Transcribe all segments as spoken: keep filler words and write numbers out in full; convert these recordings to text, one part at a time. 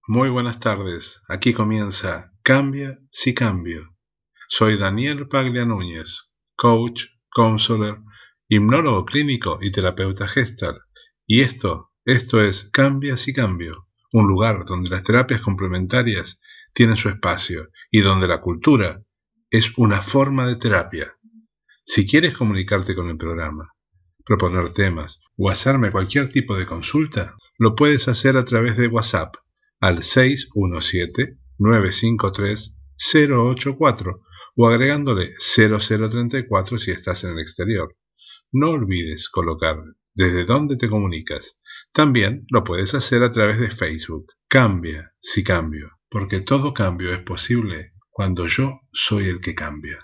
Muy buenas tardes, aquí comienza Cambia si Cambio. Soy Daniel Paglia Núñez, coach, counselor, hipnólogo clínico y terapeuta Gestalt. Y esto, esto es Cambia si Cambio, un lugar donde las terapias complementarias tienen su espacio y donde la cultura es una forma de terapia. Si quieres comunicarte con el programa, proponer temas o hacerme cualquier tipo de consulta, lo puedes hacer a través de WhatsApp al seis uno siete, nueve cinco tres, cero ocho cuatro o agregándole cero cero treinta y cuatro si estás en el exterior. No olvides colocar desde dónde te comunicas. También lo puedes hacer a través de Facebook. Cambia si cambio, porque todo cambio es posible cuando yo soy el que cambia.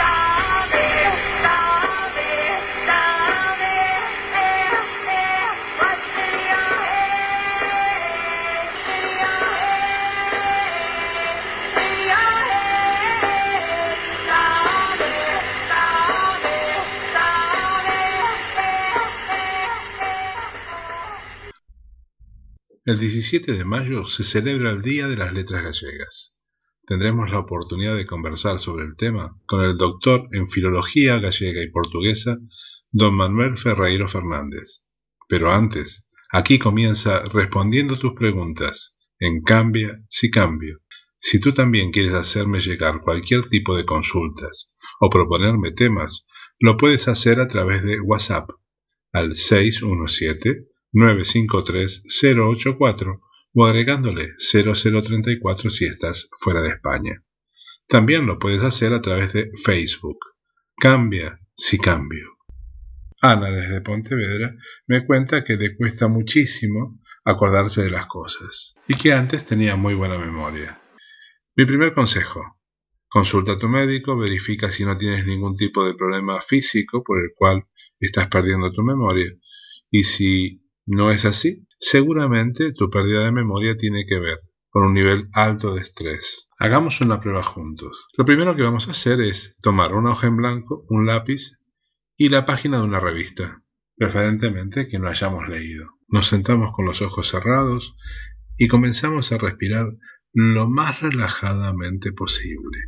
El diecisiete de mayo se celebra el Día de las Letras Gallegas. Tendremos la oportunidad de conversar sobre el tema con el doctor en Filología Gallega y Portuguesa, don Manuel Ferreiro Fernández. Pero antes, aquí comienza respondiendo tus preguntas en Cambia si Cambio. Si tú también quieres hacerme llegar cualquier tipo de consultas o proponerme temas, lo puedes hacer a través de WhatsApp al seis uno siete, nueve cinco tres, cero ocho cuatro o agregándole cero cero treinta y cuatro si estás fuera de España. También lo puedes hacer a través de Facebook. Cambia si cambio. Ana desde Pontevedra me cuenta que le cuesta muchísimo acordarse de las cosas y que antes tenía muy buena memoria. Mi primer consejo: consulta a tu médico, verifica si no tienes ningún tipo de problema físico por el cual estás perdiendo tu memoria, y si no es así, seguramente tu pérdida de memoria tiene que ver con un nivel alto de estrés. Hagamos una prueba juntos. Lo primero que vamos a hacer es tomar una hoja en blanco, un lápiz y la página de una revista, preferentemente que no hayamos leído. Nos sentamos con los ojos cerrados y comenzamos a respirar lo más relajadamente posible,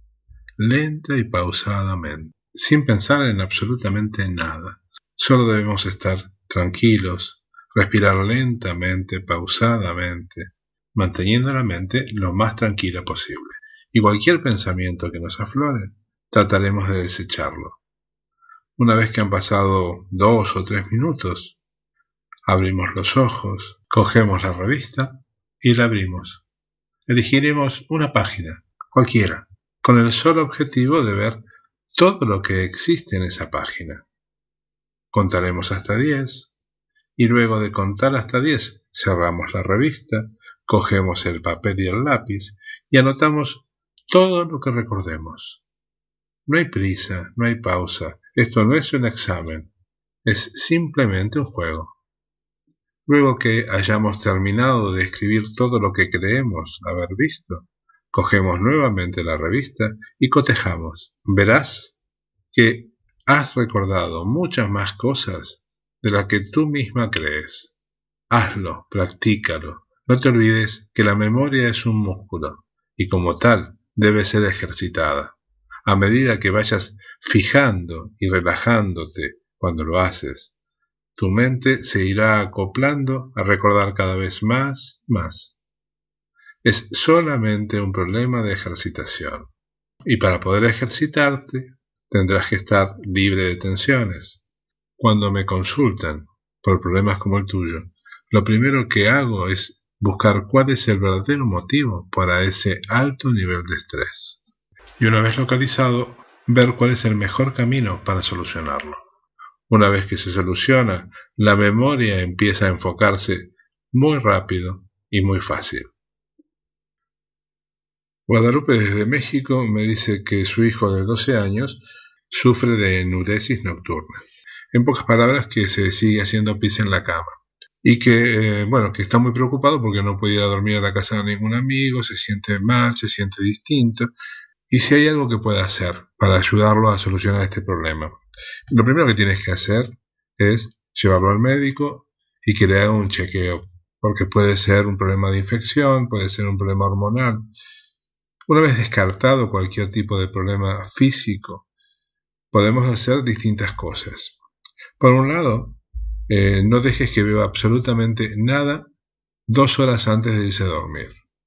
lenta y pausadamente, sin pensar en absolutamente nada. Solo debemos estar tranquilos, respirar lentamente, pausadamente, manteniendo la mente lo más tranquila posible. Y cualquier pensamiento que nos aflore, trataremos de desecharlo. Una vez que han pasado dos o tres minutos, abrimos los ojos, cogemos la revista y la abrimos. Elegiremos una página, cualquiera, con el solo objetivo de ver todo lo que existe en esa página. Contaremos hasta diez. Y luego de contar hasta diez, cerramos la revista, cogemos el papel y el lápiz y anotamos todo lo que recordemos. No hay prisa, no hay pausa, esto no es un examen, es simplemente un juego. Luego que hayamos terminado de escribir todo lo que creemos haber visto, cogemos nuevamente la revista y cotejamos. Verás que has recordado muchas más cosas de la que tú misma crees. Hazlo, practícalo. No te olvides que la memoria es un músculo y como tal debe ser ejercitada. A medida que vayas fijando y relajándote cuando lo haces, tu mente se irá acoplando a recordar cada vez más y más. Es solamente un problema de ejercitación. Y para poder ejercitarte, tendrás que estar libre de tensiones. Cuando me consultan por problemas como el tuyo, lo primero que hago es buscar cuál es el verdadero motivo para ese alto nivel de estrés. Y una vez localizado, ver cuál es el mejor camino para solucionarlo. Una vez que se soluciona, la memoria empieza a enfocarse muy rápido y muy fácil. Guadalupe desde México me dice que su hijo de doce años sufre de enuresis nocturna. En pocas palabras, que se sigue haciendo pis en la cama. Y que, eh, bueno, que está muy preocupado porque no puede ir a dormir a la casa de ningún amigo, se siente mal, se siente distinto. Y si hay algo que pueda hacer para ayudarlo a solucionar este problema. Lo primero que tienes que hacer es llevarlo al médico y que le haga un chequeo porque puede ser un problema de infección, puede ser un problema hormonal. Una vez descartado cualquier tipo de problema físico, podemos hacer distintas cosas. Por un lado, eh, no dejes que beba absolutamente nada dos horas antes de irse a dormir.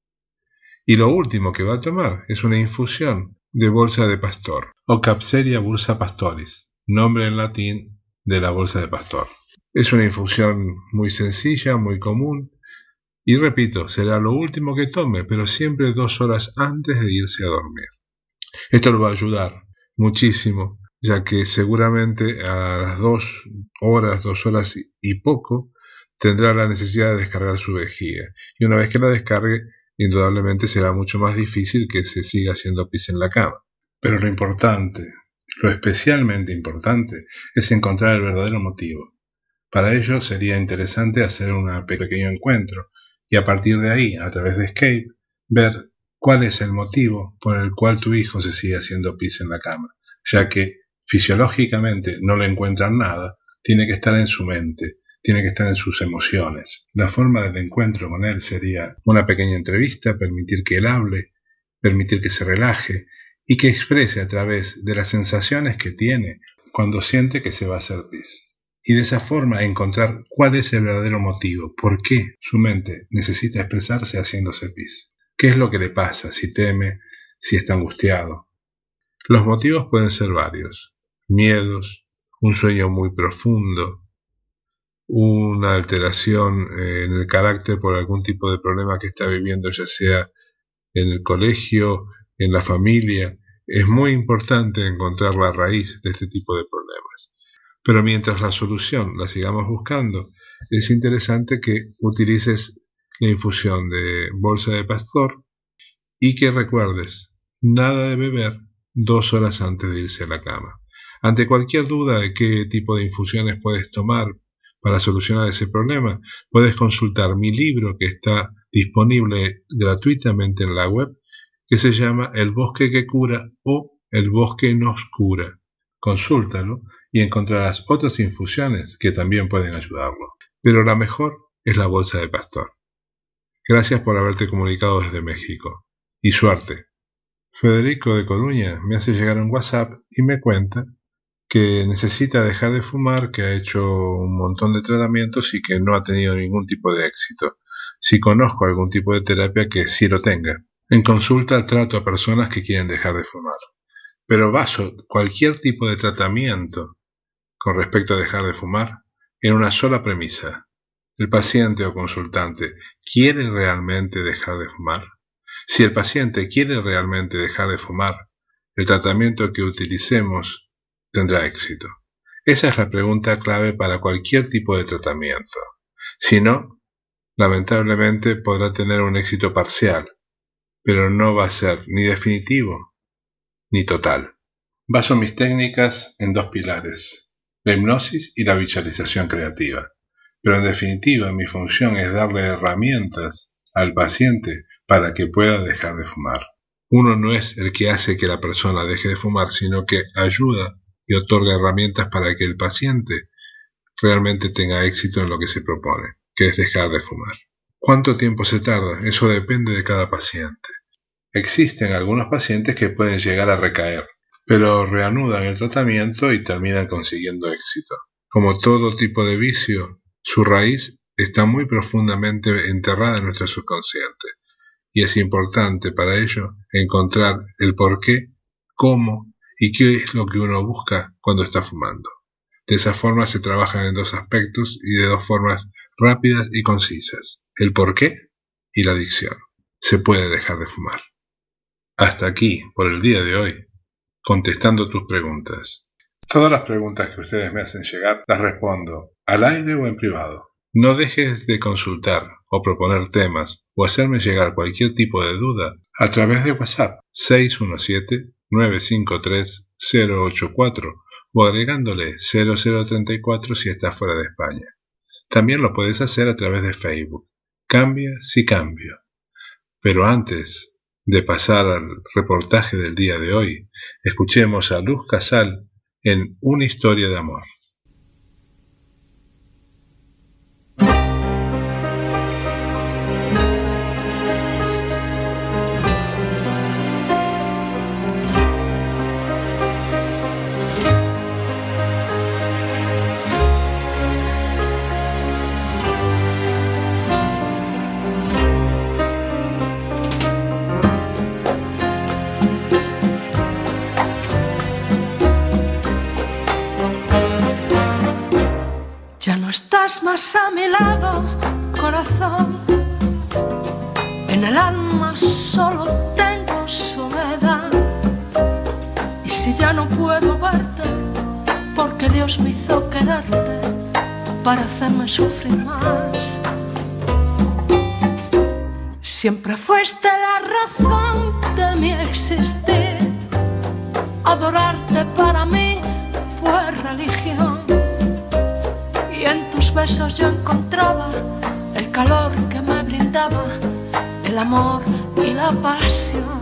Y lo último que va a tomar es una infusión de bolsa de pastor, o Capseria bursa pastoris, nombre en latín de la bolsa de pastor. Es una infusión muy sencilla, muy común, y repito, será lo último que tome, pero siempre dos horas antes de irse a dormir. Esto lo va a ayudar muchísimo, ya que seguramente a las dos horas, dos horas y poco, tendrá la necesidad de descargar su vejiga. Y una vez que la descargue, indudablemente será mucho más difícil que se siga haciendo pis en la cama. Pero lo importante, lo especialmente importante, es encontrar el verdadero motivo. Para ello sería interesante hacer un pequeño encuentro y a partir de ahí, a través de Escape, ver cuál es el motivo por el cual tu hijo se sigue haciendo pis en la cama, ya que fisiológicamente no le encuentran nada, tiene que estar en su mente, tiene que estar en sus emociones. La forma del encuentro con él sería una pequeña entrevista, permitir que él hable, permitir que se relaje y que exprese a través de las sensaciones que tiene cuando siente que se va a hacer pis. Y de esa forma encontrar cuál es el verdadero motivo, por qué su mente necesita expresarse haciéndose pis. ¿Qué es lo que le pasa? Si teme, si está angustiado. Los motivos pueden ser varios. Miedos, un sueño muy profundo, una alteración en el carácter por algún tipo de problema que está viviendo, ya sea en el colegio, en la familia. Es muy importante encontrar la raíz de este tipo de problemas. Pero mientras la solución la sigamos buscando, es interesante que utilices la infusión de bolsa de pastor y que recuerdes, nada de beber dos horas antes de irse a la cama. Ante cualquier duda de qué tipo de infusiones puedes tomar para solucionar ese problema, puedes consultar mi libro que está disponible gratuitamente en la web, que se llama El bosque que cura o El bosque nos cura. Consúltalo y encontrarás otras infusiones que también pueden ayudarlo. Pero la mejor es la bolsa de pastor. Gracias por haberte comunicado desde México. Y suerte. Federico de Coruña me hace llegar un WhatsApp y me cuenta que necesita dejar de fumar, que ha hecho un montón de tratamientos y que no ha tenido ningún tipo de éxito. Si conozco algún tipo de terapia que sí lo tenga. En consulta trato a personas que quieren dejar de fumar. Pero baso cualquier tipo de tratamiento con respecto a dejar de fumar en una sola premisa. ¿El paciente o consultante quiere realmente dejar de fumar? Si el paciente quiere realmente dejar de fumar, el tratamiento que utilicemos tendrá éxito. Esa es la pregunta clave para cualquier tipo de tratamiento. Si no, lamentablemente podrá tener un éxito parcial, pero no va a ser ni definitivo ni total. Baso mis técnicas en dos pilares, la hipnosis y la visualización creativa. Pero en definitiva mi función es darle herramientas al paciente para que pueda dejar de fumar. Uno no es el que hace que la persona deje de fumar, sino que ayuda y otorga herramientas para que el paciente realmente tenga éxito en lo que se propone, que es dejar de fumar. ¿Cuánto tiempo se tarda? Eso depende de cada paciente. Existen algunos pacientes que pueden llegar a recaer, pero reanudan el tratamiento y terminan consiguiendo éxito. Como todo tipo de vicio, su raíz está muy profundamente enterrada en nuestro subconsciente, y es importante para ello encontrar el por qué, cómo y qué es lo que uno busca cuando está fumando. De esa forma se trabajan en dos aspectos y de dos formas rápidas y concisas: el por qué y la adicción. Se puede dejar de fumar. Hasta aquí, por el día de hoy, contestando tus preguntas. Todas las preguntas que ustedes me hacen llegar las respondo al aire o en privado. No dejes de consultar o proponer temas o hacerme llegar cualquier tipo de duda a través de WhatsApp seis uno siete, nueve cinco tres, cero ocho cuatro o agregándole cero cero tres cuatro si estás fuera de España. También lo puedes hacer a través de Facebook. Cambia si cambio. Pero antes de pasar al reportaje del día de hoy, escuchemos a Luz Casal en Una historia de amor. estás más a mi lado, corazón. En el alma solo tengo soledad. Y si ya no puedo verte, porque Dios me hizo quererte para hacerme sufrir más. Siempre fuiste la razón de mi existir. Adorarte para mí fue religión. Y en tus besos yo encontraba el calor que me brindaba el amor y la pasión.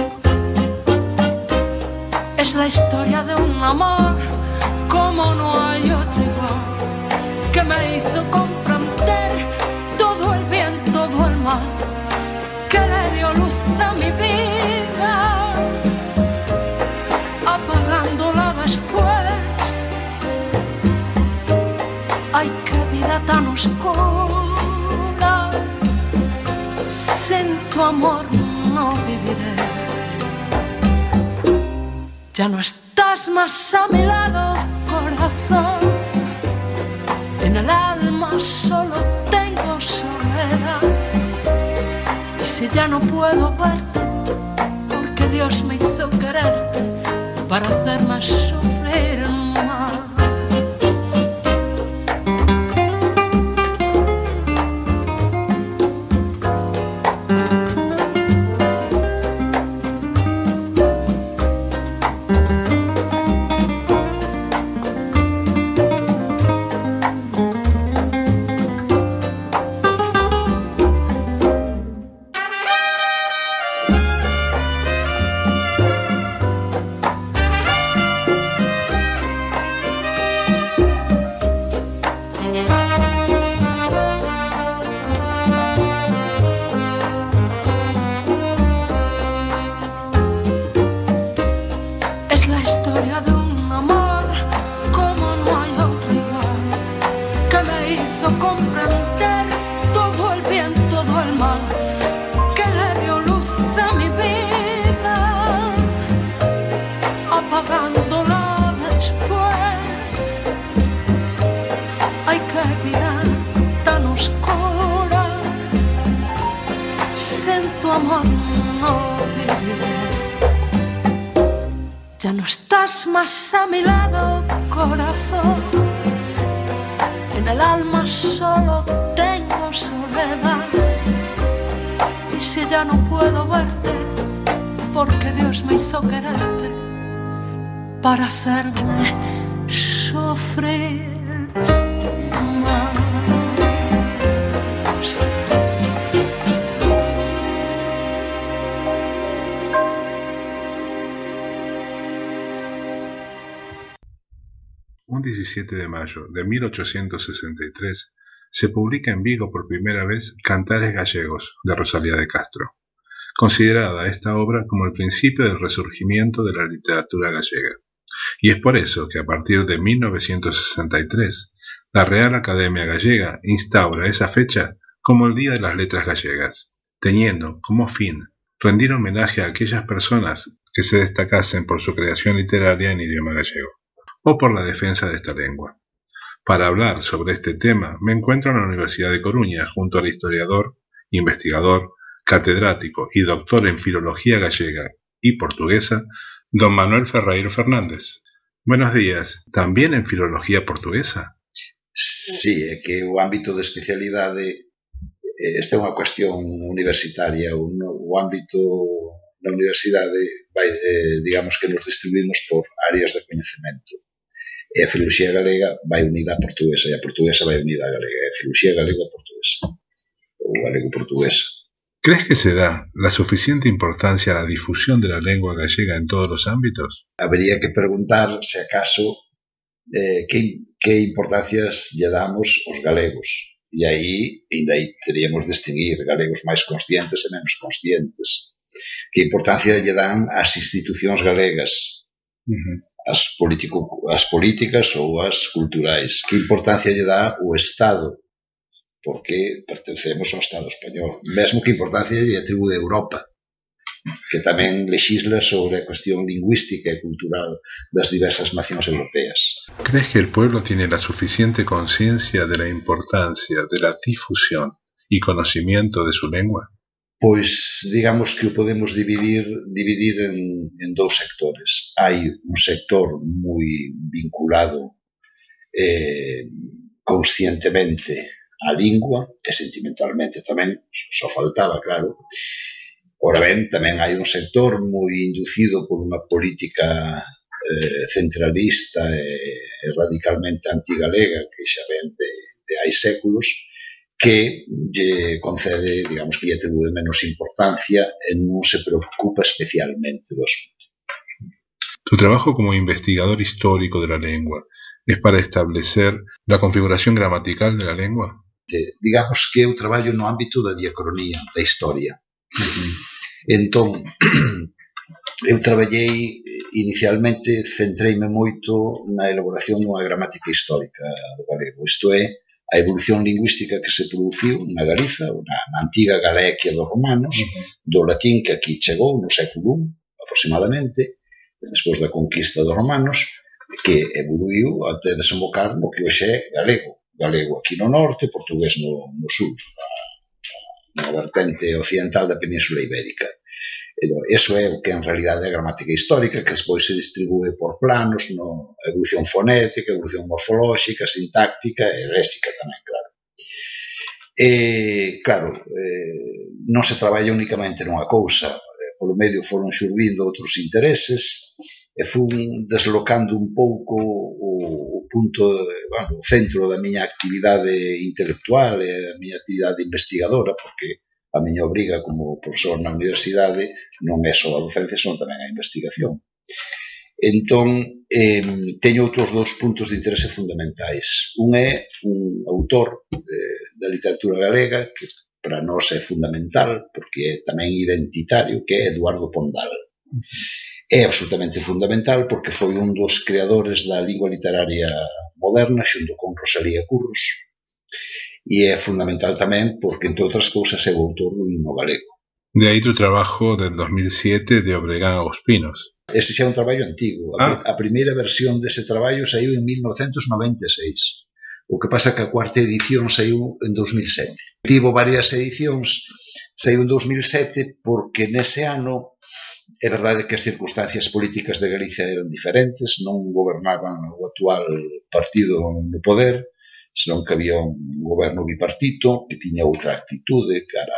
Es la historia de un amor como no hay otro igual, que me hizo comprender todo el bien, todo el mal, que le dio luz a mi vida, apagándola después. Ay, qué vida tan oscura, sin tu amor no viviré. Ya no estás más a mi lado, corazón. En el alma solo tengo soledad. Y si ya no puedo verte, porque Dios me hizo quererte para hacerme sufrir más. Ya no estás más a mi lado, corazón. En el alma solo tengo soledad. Y si ya no puedo verte, porque Dios me hizo quererte para hacerme sufrir más. Un diecisiete de mayo de mil ochocientos sesenta y tres se publica en Vigo por primera vez Cantares Gallegos, de Rosalía de Castro, considerada esta obra como el principio del resurgimiento de la literatura gallega. Y es por eso que a partir de mil novecientos sesenta y tres, la Real Academia Gallega instaura esa fecha como el Día de las Letras Gallegas, teniendo como fin rendir homenaje a aquellas personas que se destacasen por su creación literaria en idioma gallego, o por la defensa de esta lengua. Para hablar sobre este tema me encuentro en la Universidad de Coruña junto al historiador, investigador, catedrático y doctor en Filología Gallega y Portuguesa, don Manuel Ferreiro Fernández. Buenos días. ¿También en Filología Portuguesa? Sí, é que o ámbito de especialidade, esta é unha cuestión universitaria, o, o ámbito na universidade, vai, eh, digamos que nos distribuímos por áreas de coñecemento. E a filoloxía galega vai unida á portuguesa e a portuguesa vai unida á galega. E a filoloxía galega a portuguesa, ou galego-portuguesa. ¿Crees que se da la suficiente importancia a la difusión de la lengua gallega en todos los ámbitos? Habría que preguntar se acaso eh, que, que importancias lle damos aos galegos. E aí, ainda aí teríamos de distinguir galegos máis conscientes e menos conscientes. Que importancia lle dan as institucións galegas, Uh-huh. As, politico, as políticas ou as culturais. Que importancia lle dá o Estado, porque pertencemos ao Estado español. Mesmo que importancia lle atribúe a Europa, que tamén lexisla sobre a cuestión lingüística e cultural das diversas nacións europeas. ¿Crees que el pueblo tiene la suficiente conciencia de la importancia de la difusión y conocimiento de su lengua? Pois, digamos que o podemos dividir, dividir en, en dous sectores. Hai un sector moi vinculado eh, conscientemente á lingua e sentimentalmente tamén, só faltaba, claro. Ora ben, tamén hai un sector moi inducido por unha política eh, centralista e, e radicalmente antigalega que xa ven de, de hai séculos, que lle concede, digamos, que lle atribúe menos importancia e non se preocupa especialmente do asunto. Tu trabajo como investigador histórico de la lengua es para establecer la configuración gramatical de la lengua? De, digamos que eu traballo no ámbito da diacronía, da historia. Uh-huh. Entón, eu traballei inicialmente, centreime moito na elaboración dunha gramática histórica do galego, isto é, a evolución lingüística que se produciu na Galiza, na, na antiga Galaequia dos romanos, uh-huh. do latín que aquí chegou no século I, aproximadamente, despois da conquista dos romanos, que evoluiu até desembocar no que hoxe é galego. Galego aquí no norte, portugués no, no sur, na, na vertente occidental da Península Ibérica. Entón, eso é o que en realidade é a gramática histórica, que despois se distribúe por planos, no, a evolución fonética, a evolución morfolóxica, sintáctica e léxica tamén, claro. E, claro, eh, non se traballa únicamente nunha cousa, eh, polo medio foron xurdindo outros intereses, e fun deslocando un pouco o, o punto, bueno, o centro da miña actividade intelectual e a miña actividade investigadora, porque a miña obriga como profesor na universidade non é só a docencia, senón tamén a investigación. Entón, eh, teño outros dous puntos de interese fundamentais. Un é un autor eh, da literatura galega que para nós é fundamental, porque é tamén identitario, que é Eduardo Pondal. É absolutamente fundamental porque foi un dos creadores da lingua literaria moderna xunto con Rosalía Curros, e é fundamental tamén porque, entre outras cousas, é o autor do himno galego. De aí tu trabajo del dos mil siete de Obregán a Os Pinos. Ese xa é un traballo antigo. A, ah. a primeira versión dese traballo saiu en mil novecentos noventa e seis. O que pasa que a cuarta edición saiu en dos mil sete. Tivo varias edicións, saiu en dos mil sete porque nese ano é verdade que as circunstancias políticas de Galicia eran diferentes, non gobernaban o actual partido no poder, senón que había un goberno bipartito que tiña outra actitude cara,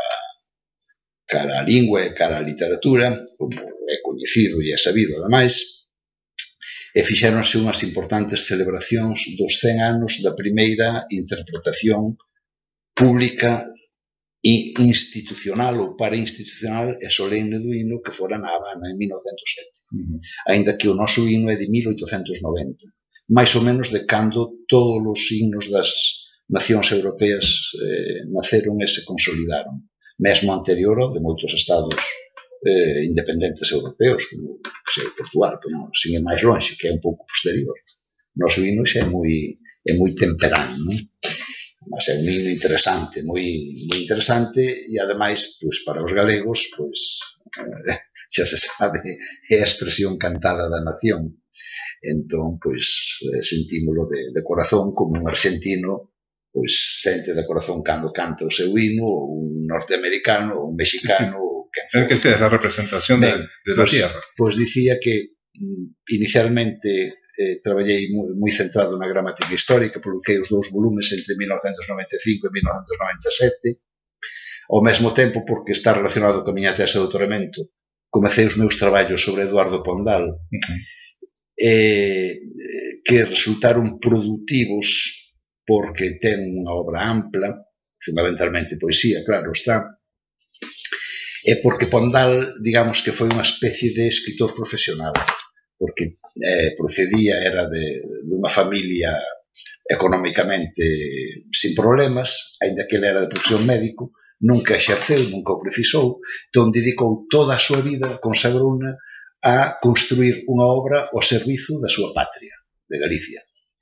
cara a lingua e cara a literatura, como é coñecido e é sabido, ademais, e fixéronse unhas importantes celebracións dos cen anos da primeira interpretación pública e institucional ou parainstitucional e solemne do himno que fora na Habana en mil novecentos e sete. Uh-huh. Ainda que o noso himno é de mil oitocentos noventa. máis ou menos de cando todos os himnos das nacións europeas eh, naceron e se consolidaron. Mesmo anterior ao de moitos estados eh, independentes europeos, como que sei, Portugal, pero non, sin ir máis longe, que é un pouco posterior. O noso himno xa é moi, é moi temperán, non? Mas é un himno interesante, moi, moi interesante, e ademais, pois, para os galegos, pois, eh, xa se sabe, é a expresión cantada da nación. Entón, pois, eh, sentímolo de, de corazón, como un argentino, pois, sente de corazón cando canta o seu himno, ou un norteamericano, ou un mexicano, sí, sí. ou quen for. É que sea, é a representación ben, de, de pues, la tierra. Pois dicía que, inicialmente, eh, traballei moi, moi centrado na gramática histórica, publiquei os dous volumes entre mil novecentos noventa e cinco e mil novecentos noventa e sete. Ao mesmo tempo, porque está relacionado con a miña tese de doutoramento, comecei os meus traballos sobre Eduardo Pondal, uh-huh. eh, que resultaron productivos porque ten unha obra ampla, fundamentalmente poesía, claro está, e porque Pondal, digamos que foi unha especie de escritor profesional, porque eh, procedía, era de, de unha familia económicamente sin problemas, aínda que ele era de profesión médico, nunca exerceu, nunca o precisou, entón dedicou toda a súa vida, consagrouna, a construir unha obra ao servizo da súa patria, de Galicia.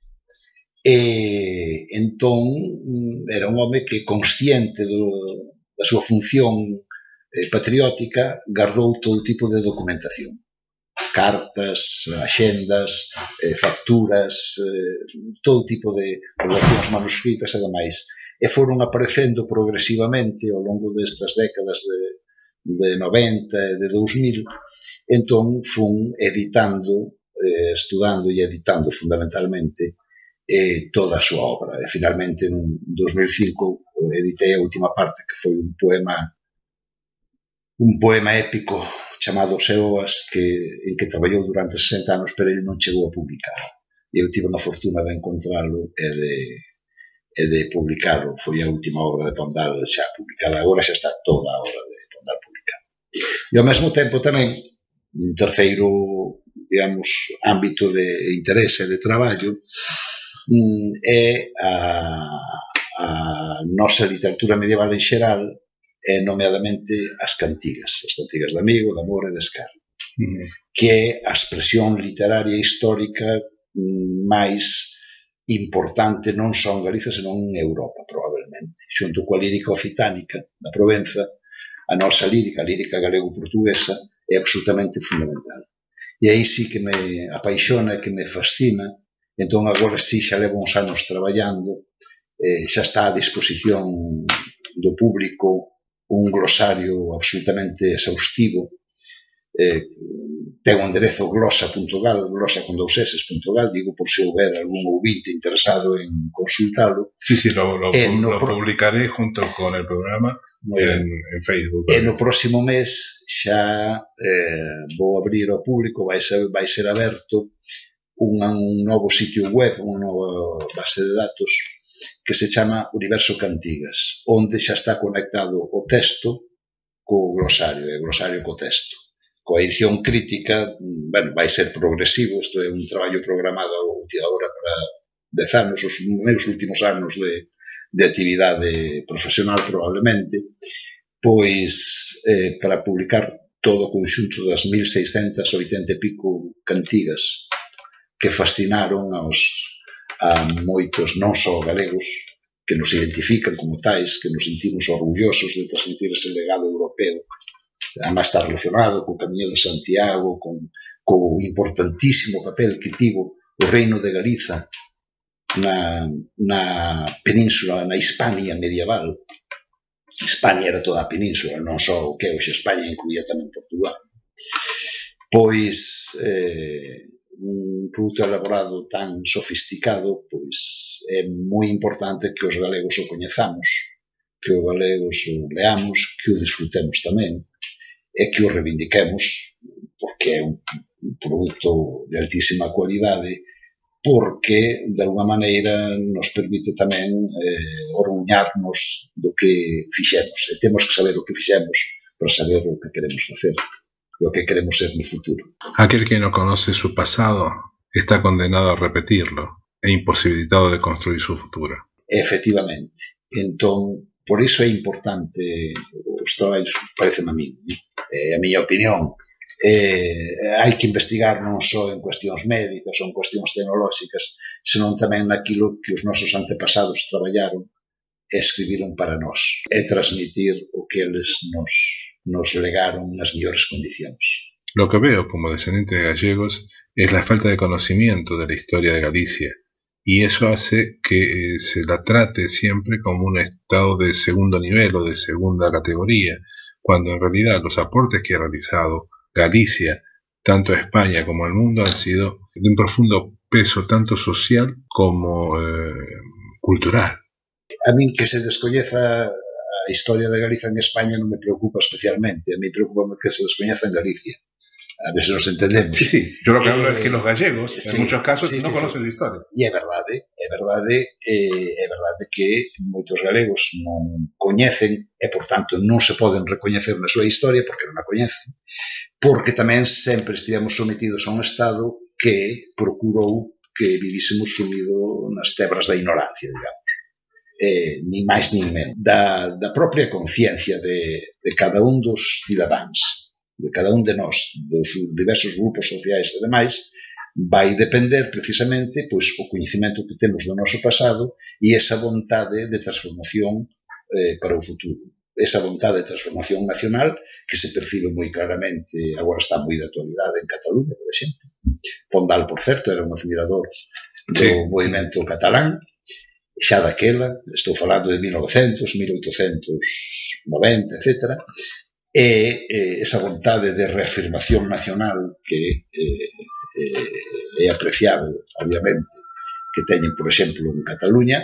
E entón era un home que, consciente do, da súa función eh, patriótica, gardou todo tipo de documentación. Cartas, axendas, eh, facturas, eh, todo tipo de relacións manuscritas e demais. E foron aparecendo progresivamente ao longo destas décadas de, de noventa e de dous mil. Entón, fun editando, eh, estudando e editando fundamentalmente eh, toda a súa obra. E finalmente, en dos mil cinco, editei a última parte, que foi un poema un poema épico chamado Seoas, que, en que traballou durante sesenta anos, pero ele non chegou a publicar. E eu tive a fortuna de encontralo e de, e de publicarlo. Foi a última obra de Pondal xa publicada. Agora xa está toda a obra de Pondal publicada. E ao mesmo tempo tamén, un terceiro, digamos, ámbito de interese de traballo é a, a nosa literatura medieval en xeral, e nomeadamente as cantigas, as cantigas de amigo, de amor e de escarro, mm. que é a expresión literaria e histórica máis importante non só en Galicia, senón en Europa, probablemente. Xunto coa lírica occitánica da Provenza, a nosa lírica, a lírica galego-portuguesa, é absolutamente fundamental. E aí sí que me apaixona e que me fascina. Entón agora sí xa levo uns anos traballando, eh, xa está a disposición do público un glosario absolutamente exhaustivo. Eh, ten o enderezo glosa punto gal, glosa con dous eses punto gal, digo por se houber algún ouvinte interesado en consultalo. Sí, sí, lo, lo, lo pro... publicaré junto con el programa en, en Facebook. E no próximo mes xa eh, vou abrir ao público, vai ser, vai ser aberto un, un novo sitio web, unha nova base de datos que se chama Universo Cantigas, onde xa está conectado o texto co glosario, e o glosario co texto. Coa edición crítica, bueno, vai ser progresivo, isto é un traballo programado agora para dez anos, os meus últimos anos de, de actividade profesional probablemente, pois eh, para publicar todo o conxunto das mil seiscentas e oitenta e pico cantigas que fascinaron aos a moitos non só galegos que nos identifican como tais, que nos sentimos orgullosos de transmitir ese legado europeo. Además está relacionado co Camiño de Santiago, con co importantísimo papel que tivo o Reino de Galiza na, na península, na Hispania medieval. Hispania era toda a península, non só o que hoxe España, incluía tamén Portugal. Pois eh, un produto elaborado tan sofisticado, pois é moi importante que os galegos o coñezamos, que os galegos o leamos, que o disfrutemos tamén e que o reivindiquemos, porque é un produto de altísima cualidade, porque de alguma maneira nos permite tamén eh, orgullarnos do que fixemos, e temos que saber o que fixemos para saber o que queremos facer, lo que queremos ser no futuro. Aquel que no conoce su pasado está condenado a repetirlo e imposibilitado de construir su futuro. Efectivamente. Entón, por iso é importante os traballos, pareceme a mí, é a miña opinión. Eh, hai que investigar non só en cuestións médicas ou en cuestións tecnolóxicas, senón tamén naquilo que os nosos antepasados traballaron e escribiron para nós, e transmitir o que eles nos, nos legaron nas mellores condicións. Lo que veo como descendiente de gallegos es la falta de conocimiento de la historia de Galicia, y eso hace que eh, se la trate siempre como un estado de segundo nivel o de segunda categoría, cuando en realidad los aportes que ha realizado Galicia, tanto a España como al mundo, han sido de un profundo peso tanto social como eh, cultural. A min que se descoñeza a historia de Galicia en España non me preocupa especialmente, a mí preocupa que se descoñeza en Galicia. A ver se nos entendemos. Sí, sí, yo lo que hablo eh, es que los gallegos, sí, en muchos casos, sí, no sí, conocen sí. la historia. E é verdade, é verdade, eh, é verdade que moitos galegos non coñecen e, por tanto, non se poden recoñecer na súa historia porque non a coñecen, porque tamén sempre estivemos sometidos a un Estado que procurou que vivísemos sumido nas tebras da ignorancia, digamos. Eh, ni máis nin menos. Da, da propia conciencia de, de cada un dos cidadáns, de cada un de nós, dos diversos grupos sociais e demais, vai depender precisamente pois, o coñecemento que temos do noso pasado e esa vontade de transformación eh, para o futuro. esa vontade de transformación nacional que se percibe moi claramente, agora está moi de actualidade en Cataluña, por exemplo. Pondal, por certo, era un admirador do sí. movimento catalán, xa daquela, estou falando de mil novecentos, mil oitocentos noventa, etcétera, e eh, esa vontade de reafirmación nacional que eh, eh, é apreciável, obviamente, que teñen, por exemplo, en Cataluña,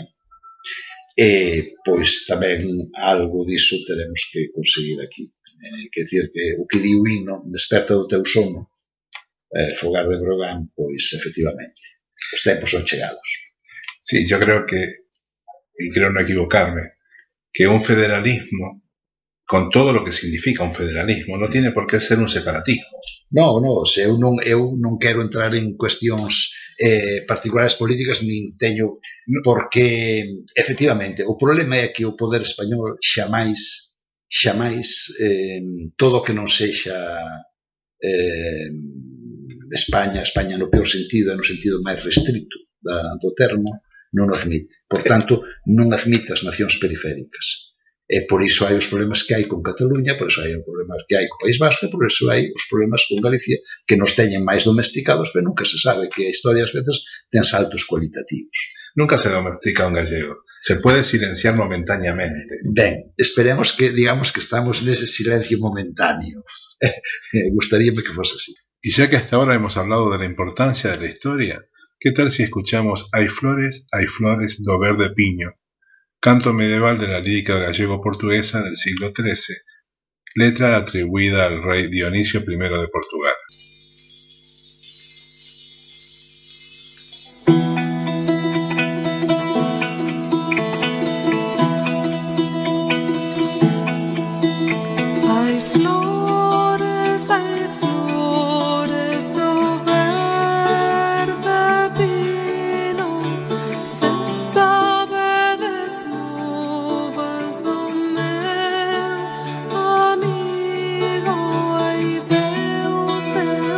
e, pois, tamén algo diso teremos que conseguir aquí. Eh, que decir que o que di o himno, desperta do teu sono, eh, Fogar de Brogan, pois, efectivamente, os tempos son chegados. Sí, yo creo que, y creo no equivocarme, que un federalismo, con todo lo que significa un federalismo, no tiene por qué ser un separatismo. No, no, se eu non, eu non quero entrar en cuestións eh, particulares políticas, nin teño, porque, efectivamente, o problema é que o poder español xamais, xamais, eh, todo o que non sexa eh, España, España no peor sentido, no sentido máis restrito da, do termo, non o admite. Por tanto, non admite as nacións periféricas. E por iso hai os problemas que hai con Cataluña, por iso hai os problemas que hai co País Vasco, e por iso hai os problemas con Galicia, que nos teñen máis domesticados, pero nunca se sabe, que a historia ás veces ten saltos cualitativos. Nunca se domestica un gallego. Se puede silenciar momentáneamente. Ben, esperemos que, digamos, que estamos nese silencio momentáneo. Gustaríame que fose así. Y ya que hasta ahora hemos hablado de la importancia de la historia, ¿qué tal si escuchamos Hai flores, hai flores do verde piño? Canto medieval de la lírica gallego-portuguesa del siglo trece, letra atribuida al rey Dionisio primero de Portugal. Amigo, ai Deus é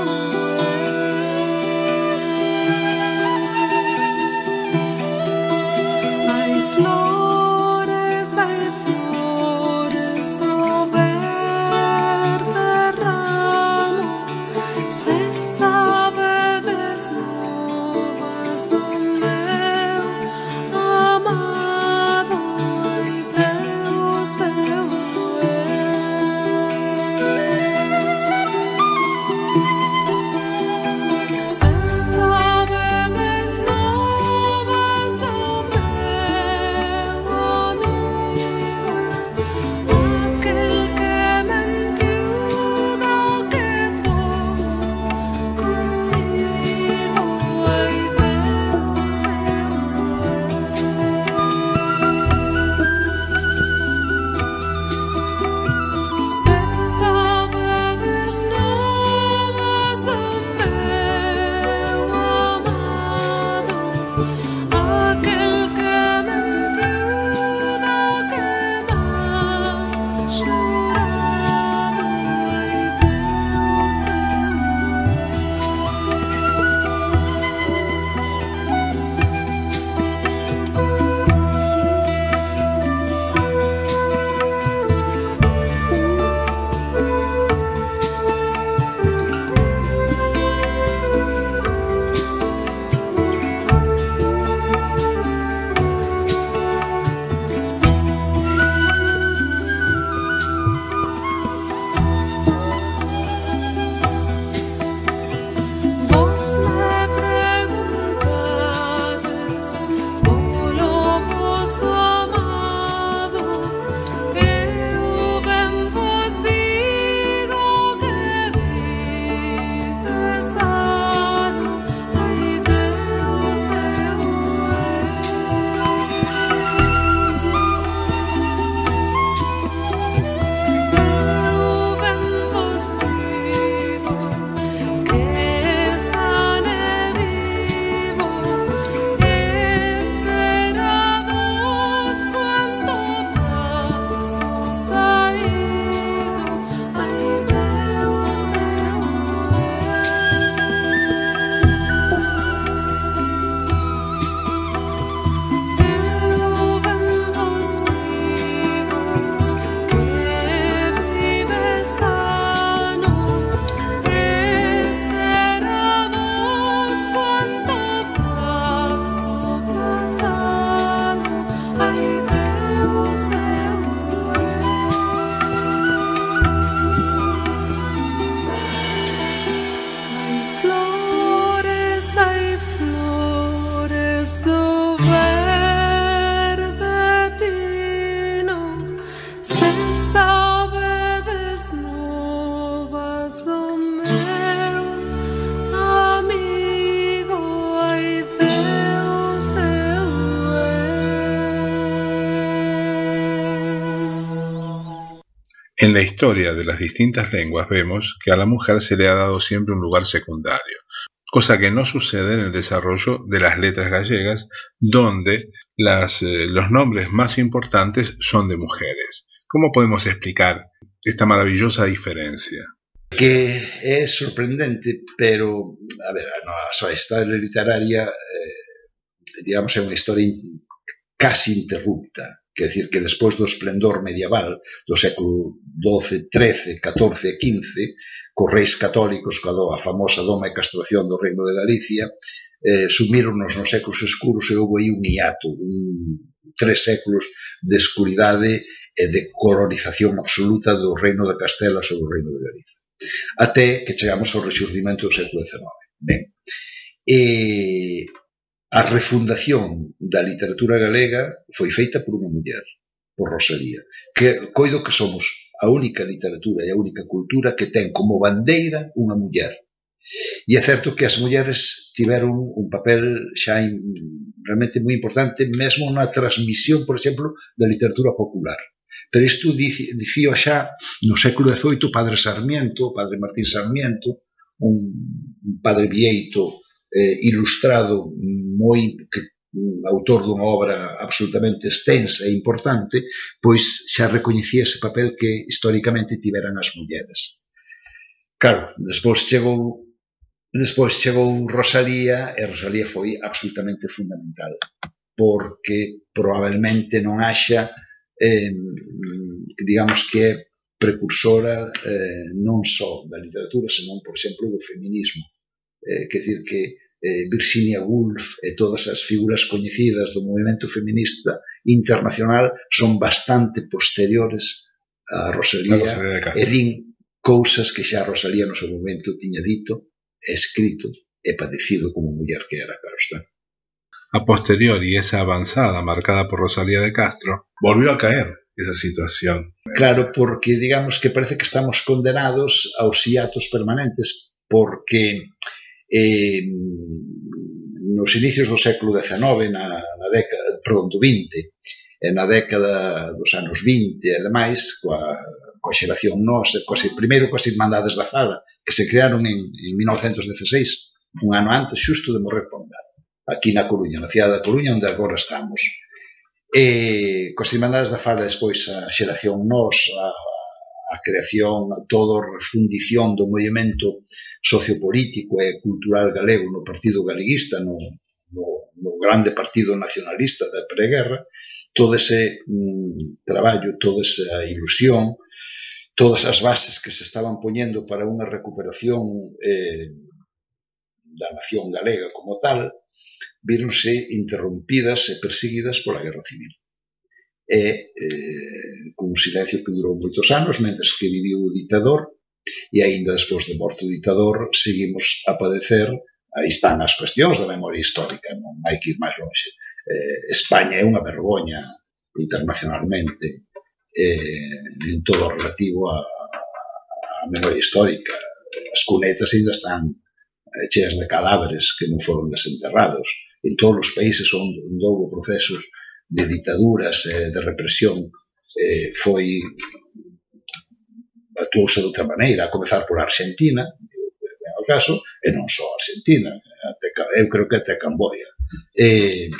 En la historia de las distintas lenguas vemos que a la mujer se le ha dado siempre un lugar secundario, cosa que no sucede en el desarrollo de las letras gallegas, donde las, eh, los nombres más importantes son de mujeres. ¿Cómo podemos explicar esta maravillosa diferencia? Que é sorprendente, pero, a ver, a nosa historia literaria, eh, digamos, é unha historia in, casi interrupta. Quer decir que despois do esplendor medieval do século doce, trece, catorce e quince, cos reis católicos, coa a famosa doma e castración do Reino de Galicia, eh, sumíronos nos séculos escuros e houve aí un hiato, un, tres séculos de escuridade e de colonización absoluta do Reino de Castela sobre o Reino de Galicia. Até que chegamos ao rexurdimento do século dezenove. Ben, e a refundación da literatura galega foi feita por unha muller, por Rosalía, que coido que somos a única literatura e a única cultura que ten como bandeira unha muller. E é certo que as mulleres tiveron un papel xa in, realmente moi importante, mesmo na transmisión, por exemplo, da literatura popular. Pero isto dicía xa no século dezoito o padre Sarmiento, o padre Martín Sarmiento, un, un padre vieito, eh, ilustrado, moi que, un autor dunha obra absolutamente extensa e importante, pois xa recoñecía ese papel que históricamente tiveran as mulleres. Claro, despois chegou despois chegou Rosalía e Rosalía foi absolutamente fundamental, porque probablemente non haxa eh, digamos que é precursora eh, non só da literatura, senón, por exemplo, do feminismo. Eh, quer dizer que eh, Virginia Woolf e todas as figuras coñecidas do movimento feminista internacional son bastante posteriores a Rosalía, Rosalía e din cousas que xa Rosalía no seu momento tiña dito, escrito e padecido como muller que era, claro está. A posteriori, esa avanzada marcada por Rosalía de Castro volvió a caer esa situación. Claro, porque digamos que parece que estamos condenados aos hiatos permanentes, porque eh, nos inicios do século dezenove, na, na década, perdón, do vinte, e na década dos anos vinte, e demais, coa, coa xeración nosa, coas, primeiro coas Irmandades da Fala, que se crearon en, en mil novecentos dezasseis, un ano antes, xusto de morrer Pondal, aquí na Coruña, na cidade da Coruña, onde agora estamos. E coas Irmandades da Fala, despois a xeración nos, a, a creación, a toda a refundición do movimento sociopolítico e cultural galego no Partido Galeguista, no, no, no grande partido nacionalista da preguerra, todo ese mm, traballo, toda esa ilusión, todas as bases que se estaban poñendo para unha recuperación eh, da nación galega como tal, víronse interrompidas e perseguidas pola Guerra Civil. E eh, con un silencio que durou moitos anos, mentres que viviu o ditador, e aínda despois de morto o ditador, seguimos a padecer, aí están as cuestións da memoria histórica, non hai que ir máis longe. Eh, España é unha vergoña internacionalmente eh, en todo o relativo a, a memoria histórica. As cunetas ainda están cheas de cadáveres que non foron desenterrados. En todos os países onde houve procesos de ditaduras e de represión eh, foi actuouse de outra maneira, a comezar por Argentina, é o caso, e non só Argentina, até, eu creo que até Camboya. Eh,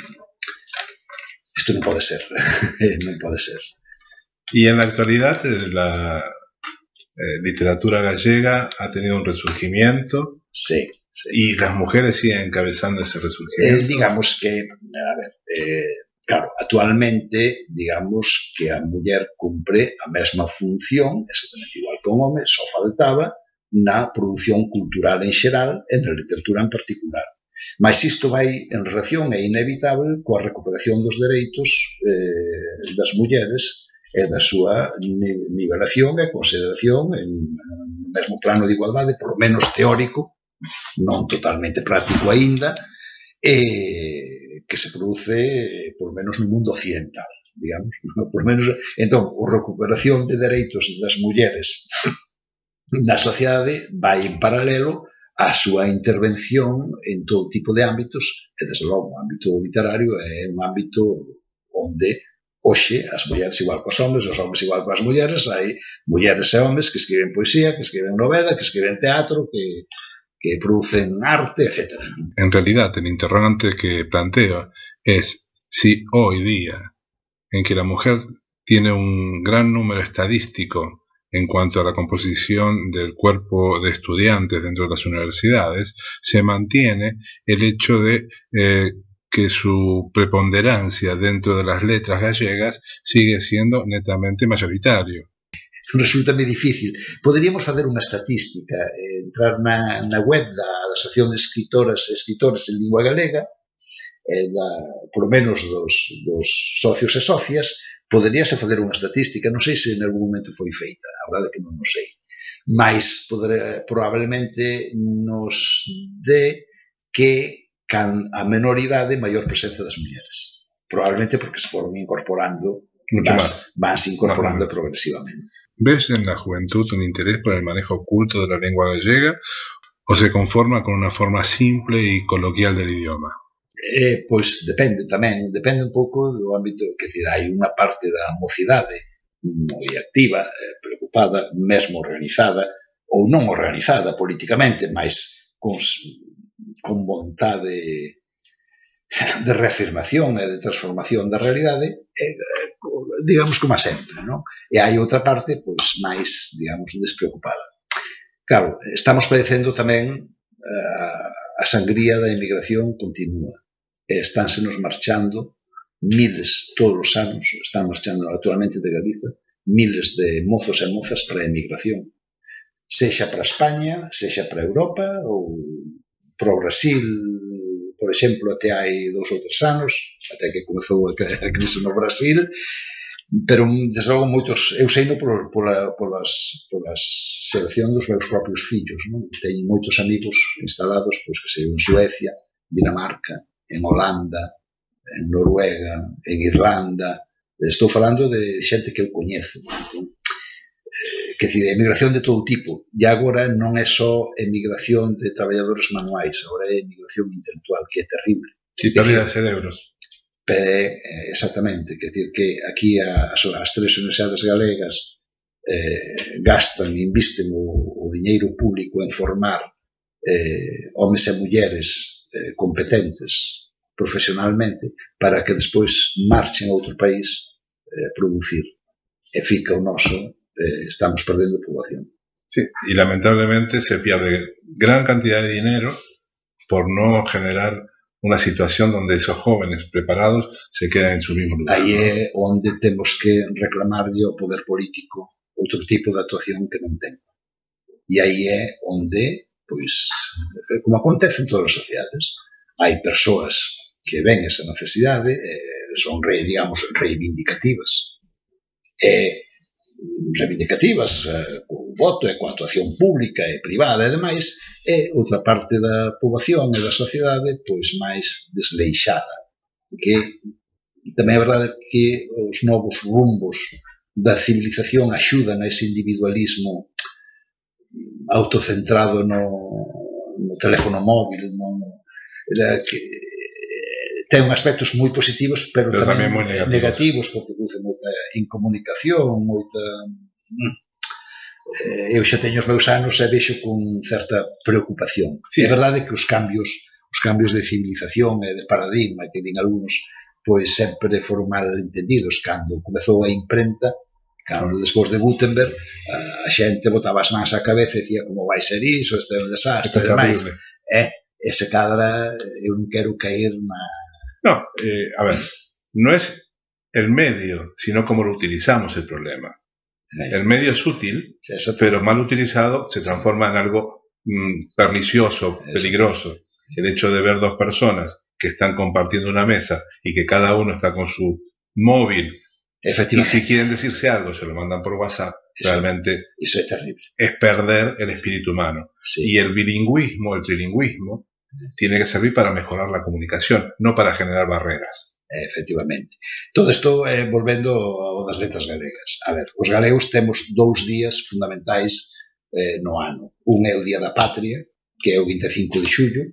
isto non pode ser, non pode ser. Y en la actualidad la eh, literatura gallega ha tenido un resurgimiento. Sí. Sí. Y las mujeres siguen encabezando ese resurgimiento. Eh, digamos que, a ver, eh, claro, actualmente, digamos que a muller cumpre a mesma función, exactamente igual que un home, só faltaba na produción cultural en xeral e na literatura en particular. Mas isto vai en relación, é inevitable, coa recuperación dos dereitos eh, das mulleres e da súa nivelación e consideración en, no mesmo plano de igualdade, por lo menos teórico, non totalmente práctico aínda, eh, que se produce por lo menos no mundo occidental, digamos, por lo menos. Entón, a recuperación de dereitos das mulleres na sociedade vai en paralelo á súa intervención en todo tipo de ámbitos, e desde logo o ámbito literario é un ámbito onde hoxe as mulleres igual cos homes, os homes igual coas mulleres, hai mulleres e homes que escriben poesía, que escriben novela, que escriben teatro, que, que producen arte, etcétera. En realidad, el interrogante que planteo es si hoy día, en que la mujer tiene un gran número estadístico en cuanto a la composición del cuerpo de estudiantes dentro de las universidades, se mantiene el hecho de eh, que su preponderancia dentro de las letras gallegas sigue siendo netamente mayoritario. Resulta-me difícil. Poderíamos facer unha estatística, eh, entrar na, na web da Asociación de Escritoras e Escritores en Lingua Galega, eh, da, por lo menos dos, dos socios e socias, poderíase fazer unha estatística, non sei se en algún momento foi feita, a verdade é que non o sei, mas poder, probablemente nos dé que can a menor idade maior presencia das mulleres. Probablemente porque se foron incorporando, mucho vas, más. vas incorporando Más progresivamente. ¿Ves en la juventud un interés por el manejo oculto de la lengua gallega o se conforma con una forma simple y coloquial del idioma? Eh, pois depende tamén, depende un pouco do ámbito, que decir, hai unha parte da mocidade moi activa, eh, preocupada, mesmo organizada, ou non organizada políticamente, mas con, con vontade de reafirmación e de transformación da realidade, eh, digamos como sempre, non? E hai outra parte, pois, máis, digamos, despreocupada. Claro, estamos padecendo tamén uh, a sangría da emigración continua. E estánsenos marchando miles, todos os anos, están marchando actualmente de Galiza, miles de mozos e mozas para a emigración. Sexa para España, sexa para Europa, ou para o Brasil, por exemplo, até hai dous ou tres anos, até que comezou a crise no Brasil, pero, desde logo, moitos, eu sei no por, pola, polas, polas selección dos meus propios fillos, non? Teño moitos amigos instalados, pois, que sei, en Suecia, Dinamarca, en Holanda, en Noruega, en Irlanda. Estou falando de xente que eu coñezo. Entón, eh, que decir, emigración de todo tipo. E agora non é só emigración de traballadores manuais, agora é emigración intelectual, que é terrible. Sí, pérdida de cerebros. Pero, eh, exactamente, que decir que aquí as, as tres universidades galegas eh, gastan, invisten o, o diñeiro público en formar eh, homes e mulleres eh, competentes profesionalmente para que despois marchen a outro país eh, producir. E fica o noso, eh, estamos perdendo poboación. Sí, y lamentablemente se pierde gran cantidad de dinero por no generar una situación donde esos jóvenes preparados se quedan en su mismo lugar. Aí é onde temos que reclamarlle ao poder político outro tipo de actuación que non ten. E aí é onde, pois, como acontece en todas as sociedades, hai persoas que ven esa necesidade, eh, son, re, digamos, reivindicativas. E reivindicativas eh, co voto e coa actuación pública e privada e demais, e outra parte da poboación e da sociedade pois máis desleixada, que tamén é verdade que os novos rumbos da civilización axudan a ese individualismo autocentrado no, no teléfono móvil, no, que ten aspectos moi positivos, pero, pero tamén, tamén moi negativos. negativos, porque produce moita incomunicación, moita... Eh, eu xa teño os meus anos e vexo con certa preocupación. Sí. É verdade que os cambios, os cambios de civilización e de paradigma, que din algúns, pois sempre foron mal entendidos. Cando comezou a imprenta, cando despois de Gutenberg, a xente botaba as mans á cabeza e dicía como vai ser iso, este é un desastre, e demais. Eh, ese cadra, eu non quero caer na... No, eh, a ver, no es el medio, sino cómo lo utilizamos el problema. El medio es útil, sí, pero mal utilizado se transforma en algo mm, pernicioso, peligroso. El hecho de ver dos personas que están compartiendo una mesa y que cada uno está con su móvil y si quieren decirse algo se lo mandan por WhatsApp, eso, realmente eso es terrible. Es perder el espíritu humano. Sí. Y el bilingüismo, el trilingüismo, tiene que servir para mejorar la comunicación, no para generar barreras. Efectivamente. Todo isto, eh, volvendo ao das letras galegas. A ver, os galegos temos dous días fundamentais eh, no ano. Un é o Día da Patria, que é o vinte e cinco de xullo,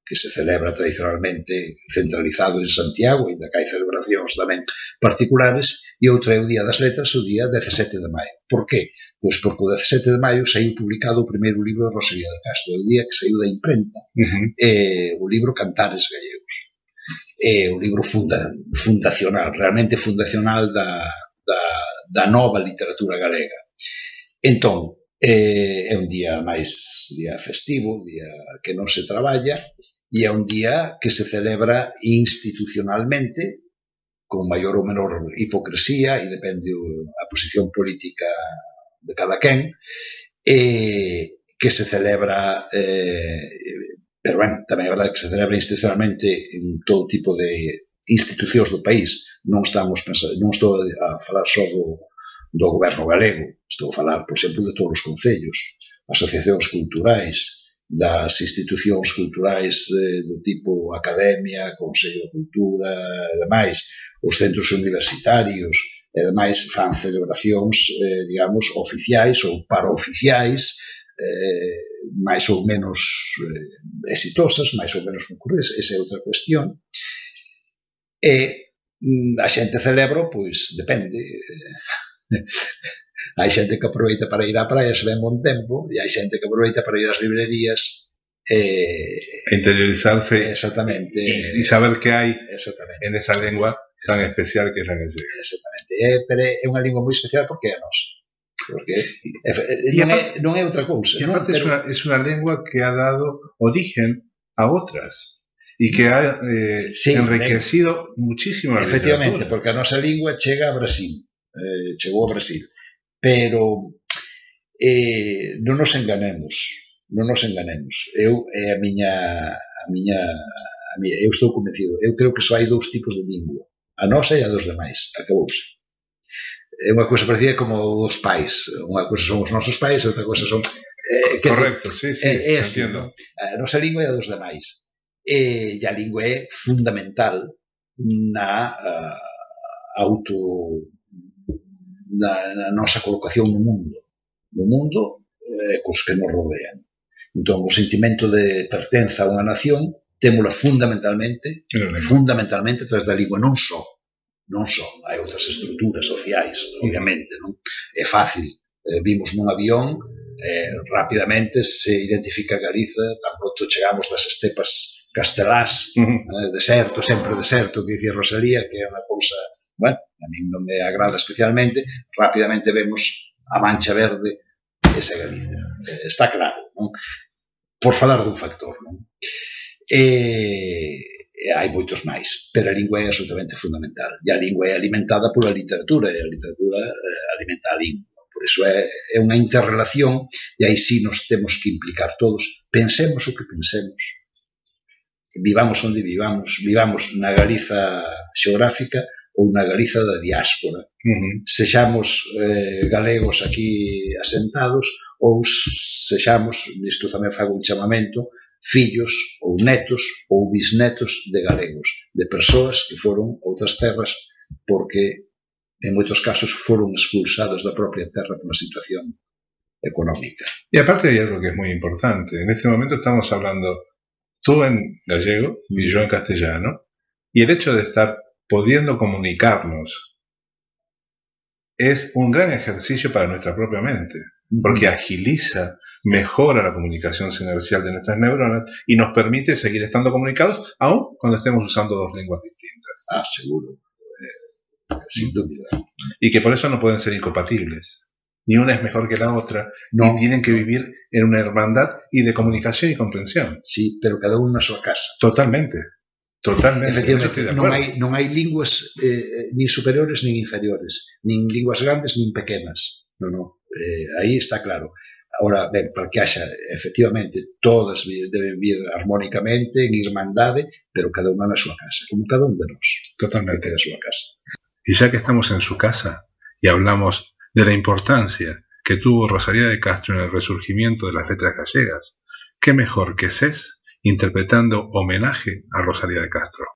que se celebra tradicionalmente centralizado en Santiago, ainda que hai celebracións tamén particulares, e outra é o Día das Letras, o día dezasete de maio. Por qué? Pois porque o dezasete de maio saiu publicado o primeiro libro de Rosalía de Castro, o día que saiu da imprenta, uh-huh. eh, o libro Cantares Gallegos. É o libro funda, fundacional, realmente fundacional da, da, da nova literatura galega. Entón, eh, é un día máis día festivo, día que non se traballa, e é un día que se celebra institucionalmente con maior ou menor hipocresía, e depende a posición política de cada quen, e que se celebra, eh, pero ben, tamén é verdade que se celebra institucionalmente en todo tipo de institucións do país. Non estamos pensando, non estou a falar só do, do goberno galego, estou a falar, por exemplo, de todos os concellos, asociacións culturais, das institucións culturais eh, do tipo academia, Consello de Cultura e demais, os centros universitarios e demais fan celebracións, eh, digamos, oficiais ou paraoficiais, eh, máis ou menos eh, exitosas, máis ou menos concurrentes, esa é outra cuestión. E a xente celebra, pois, depende. Hai xente que aproveita para ir á praia se ven bon tempo, e hai xente que aproveita para ir ás librerías e interiorizarse exactamente e saber que hai en esa lengua tan especial que é a gallega. Exactamente, é, pero é unha lingua moi especial porque é a nosa, porque é, non, é, non é outra cousa. E aparte é unha, es unha lengua que ha dado origen a outras e que ha eh, sí, enriquecido eh, muchísimo a efectivamente, literatura. Porque a nosa lingua chega a Brasil, eh, chegou a Brasil. Pero eh, non nos enganemos, non nos enganemos. Eu é a miña, a miña, a miña, eu estou convencido. Eu creo que só hai dous tipos de lingua, a nosa e a dos demais. Acabouse. É unha cousa parecida como os pais. Unha cousa son os nosos pais, outra cousa son. Eh, que Correcto, sí, sí. É, é así, ¿no? A nosa lingua e a dos demais. E, e a lingua é fundamental na uh, auto. Na, na nosa colocación no mundo no mundo eh, cos que nos rodean. Entón, o sentimento de pertenza a unha nación témola fundamentalmente fundamentalmente a través da lingua, non só non só, hai outras estruturas sociais, obviamente, non? É fácil, eh, vimos nun avión eh, rapidamente se identifica Galiza tan pronto chegamos das estepas castelás, uh-huh. eh, deserto, sempre deserto, que dicía Rosalía, que é unha cousa. Bueno, a mí non me agrada especialmente, rapidamente vemos a mancha verde, esa Galicia. Eh, está claro, non? Por falar dun factor, non? E, e hai moitos máis, pero a lingua é absolutamente fundamental. E a lingua é alimentada pola literatura, e a literatura eh, alimenta a lingua. Por iso é, é unha interrelación, e aí sí nos temos que implicar todos. Pensemos o que pensemos. Vivamos onde vivamos, vivamos na Galiza xeográfica, ou na Galiza da diáspora. Uh-huh. Sexamos eh, galegos aquí asentados ou sexamos, nisto tamén fago un chamamento, fillos ou netos ou bisnetos de galegos, de persoas que foron outras terras porque en moitos casos foron expulsados da propia terra por unha situación económica. E aparte hai algo que é moi importante. En este momento estamos hablando tú en gallego y yo en castellano, y el hecho de estar pudiendo comunicarnos es un gran ejercicio para nuestra propia mente, porque agiliza, mejora la comunicación sinercial de nuestras neuronas y nos permite seguir estando comunicados aun cuando estemos usando dos lenguas distintas. Ah, seguro, eh, sin duda. Y que por eso no pueden ser incompatibles. Ni una es mejor que la otra, no. Y tienen que vivir en una hermandad y de comunicación y comprensión. Sí, pero cada uno en su casa. Totalmente. Totalmente. Efectivamente, non hai, non hai linguas eh, nin superiores nin inferiores, nin linguas grandes nin pequenas. Non, non. Eh, aí está claro. Ahora, ben, para que haxa, efectivamente, todas deben vir armónicamente, en irmandade, pero cada unha na súa casa, como cada un de nós. Totalmente. Na súa casa. Y ya que estamos en su casa y hablamos de la importancia que tuvo Rosalía de Castro en el resurgimiento de las letras gallegas, ¿qué mejor que C E S interpretando homenaje a Rosalía de Castro?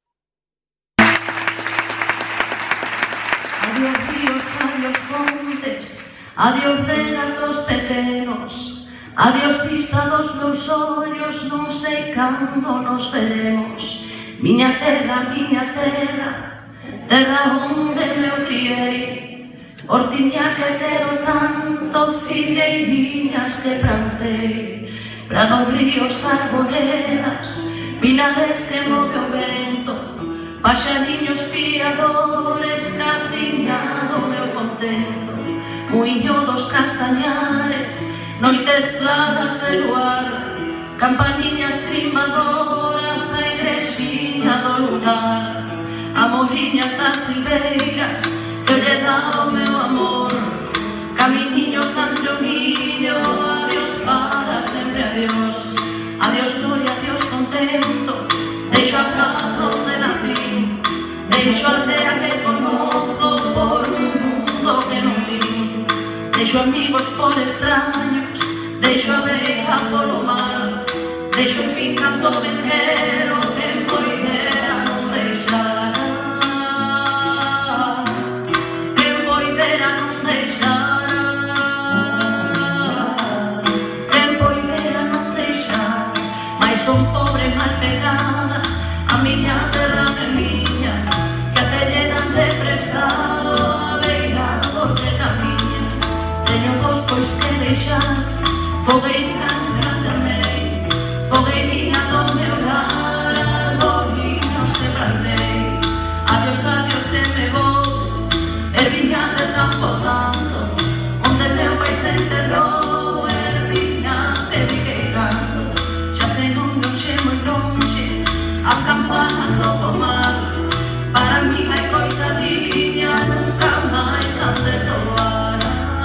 Adiós ríos, adiós montes, adiós regatos teteros, Adiós vista dos meus ollos, non sei cando nos veremos. Miña terra, miña terra, terra onde me criei. Hortiña que quero tanto, figueiriñas que plantei. Prados, ríos, arboredas, pinares que move o vento, paxariños piadores, casiñado meu contento. Muiño dos castañares, noites claras de luar, campaniñas trimbadoras da igrexiña do lugar, amoriñas das silveiras que lle dá o meu amor, caminiño santioniño, adiós para sempre, adiós, adiós gloria, adiós contento, deixo a casa onde nací, deixo a aldea que conozo por un mundo que non vi, deixo amigos por extraños, deixo a veiga polo mar, deixo en fin canto venquero que poidera non deixara, que poidera non deixara, que poidera non deixara, mais son pobre mal pegada, a miña terra é miña, que te llenan de presado, a veiga porque camiña, teño vos pois que deixar, fogueira que tamén, fogueiriña do meu lar, arboriños que plantei. Adiós, adiós que me vou, erviñas de Campo Santo, onde meu pai se enterrou, erviñas que fiquei canto, xa sei non lonxe, moi lonxe, as campanas do pomar, para mí vai coitadiña, nunca máis han de soar.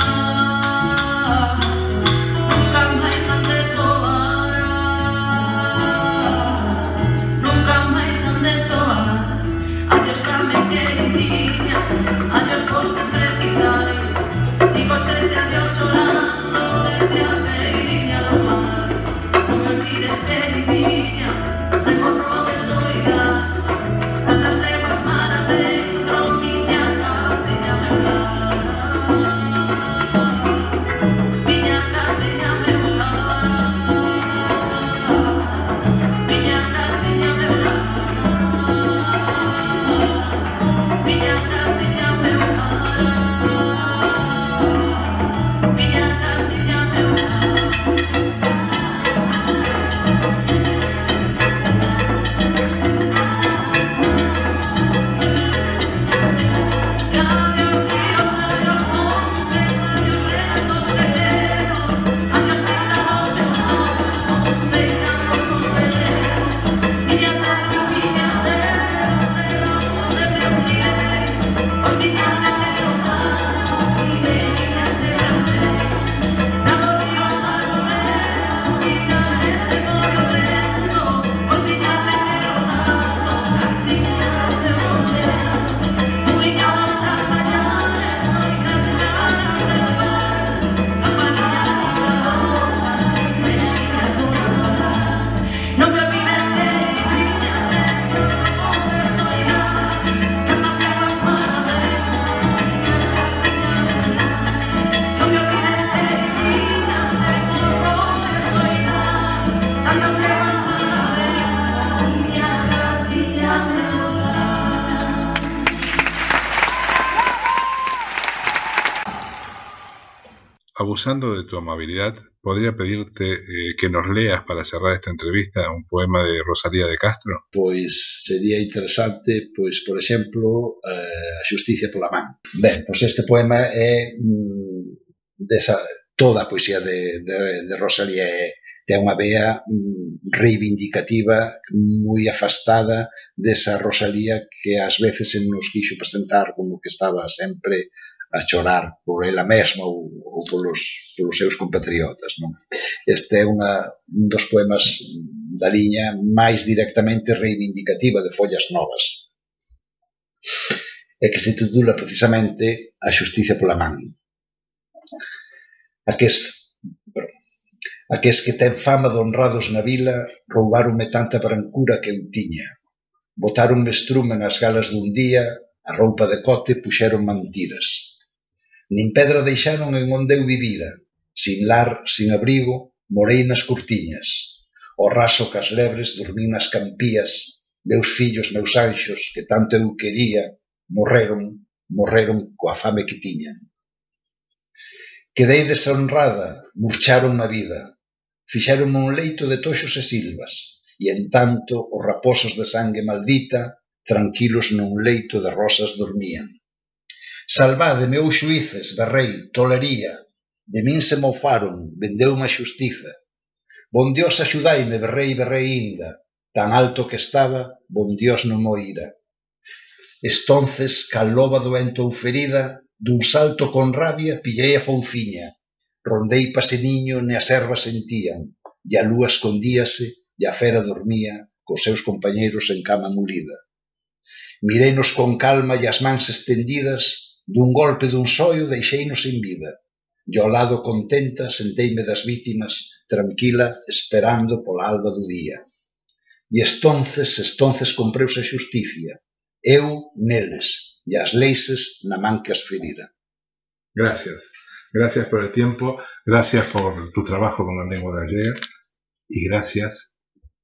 Adiós Carmen queridinha, adiós por sempre quizais, digo cheste adiós chorando desde a beiriña do mar. Non me olvides queridinha, se con rodes oirás, tantas leguas mar adentro, miña casiña meu lar, miña casiña meu lar, miña casiña meu lar. Miña casiña meu lar, miña casiña meu lar. Adiós ríos, adiós montes, adiós retos veleros, adiós vista dos meus ollos, non sei cando nos veremos. Miña terra, miña terra, terra onde me criei. Hortiñas de quero tanto, figueiriñas que plantei. Prados, ríos, arboredas, pinares que move o vento, hortiñas de quero tanto, casiñas de montera. Muiño dos castañares, noites claras de luar, campaniñas trimbadoras, igrexiñas do lugar. Non me olvides queridinha, sempre voces oirás, tantas leguas mar adentro, miña casiña meu lar. Non me olvides queridinha, sempre voces oirás, tantas leguas mar adentro, miña casiña meu lar. Abusando de tu amabilidad, podría pedirte eh, que nos leas para cerrar esta entrevista un poema de Rosalía de Castro. Pois sería interesante, pois, por exemplo, eh, a xusticia pola man. Ben, pois este poema é mm, desa, toda a poesía de, de, de Rosalía é, ten unha vea mm, reivindicativa, moi afastada desa Rosalía que ás veces se nos quixo presentar como que estaba sempre a chorar por ela mesma ou, ou polos, polos seus compatriotas, non? Este é unha, un dos poemas da liña máis directamente reivindicativa de Follas Novas, e que se titula precisamente A xusticia pola man. Aques, aques que ten fama de honrados na vila roubaronme tanta brancura que eu tiña, botaronme estrume nas galas dun día, a roupa de cote puxeron mentiras. Nin pedra deixaron en onde eu vivira, sin lar, sin abrigo, morei nas cortiñas. O raso cas lebres dormín nas campías. Meus fillos, meus anxos, que tanto eu quería, morreron, morreron coa fame que tiñan. Quedei deshonrada, murcharon a vida. Fixeronme un leito de toxos e silvas, e en tanto os raposos de sangue maldita, tranquilos nun leito de rosas dormían. Salvade, meus xuíces, berrei, tolería, de min se mofaron, vendeume a xustiza. Bon Dios axudaime, berrei, berrei inda, tan alto que estaba, bon Dios non mo ira. Estonces, cal loba doente ou ferida, dun salto con rabia pillei a fouciña, rondei paseniño ne as ervas sentían, e a lúa escondíase, e a fera dormía, cos seus compañeiros en cama mulida. Mireinos con calma e as mans estendidas, dun golpe dun soio deixeinos en vida, e ao lado contenta senteime das vítimas, tranquila, esperando pola alba do día. E estonces, estonces compreuse a xusticia, eu neles, e as leixes na man que as ferira. Gracias. Gracias por el tiempo, gracias por tu trabajo con la lengua gallega y gracias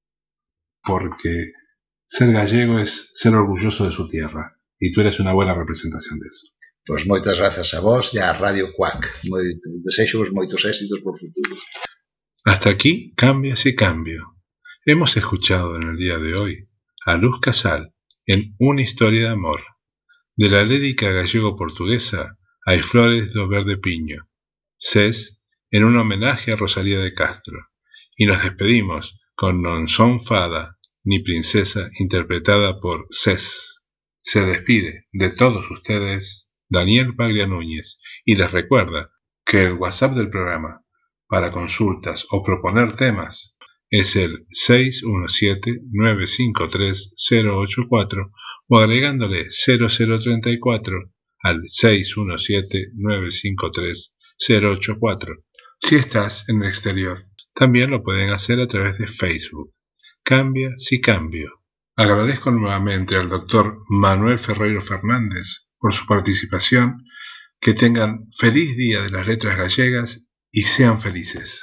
porque ser gallego es ser orgulloso de su tierra y tú eres una buena representación de eso. Pois moitas grazas a vos e a Radio Cuac. Desexo-vos moitos éxitos por futuro. Hasta aquí, Cambias y Cambio. Hemos escuchado en el día de hoy a Luz Casal en Una historia de amor, de la lírica gallego-portuguesa Hai flores do verde piño, C E S, en un homenaje a Rosalía de Castro, y nos despedimos con Non son fada ni princesa, interpretada por C E S. Se despide de todos ustedes Daniel Paglia Núñez y les recuerda que el WhatsApp del programa para consultas o proponer temas es el seis uno siete, nueve cinco tres, cero ocho cuatro o agregándole cero cero treinta y cuatro al seis uno siete, nueve cinco tres, cero ocho cuatro. Si estás en el exterior, también lo pueden hacer a través de Facebook. Cambia si cambio. Agradezco nuevamente al doctor Manuel Ferreiro Fernández por su participación. Que tengan feliz Día de las Letras Gallegas y sean felices.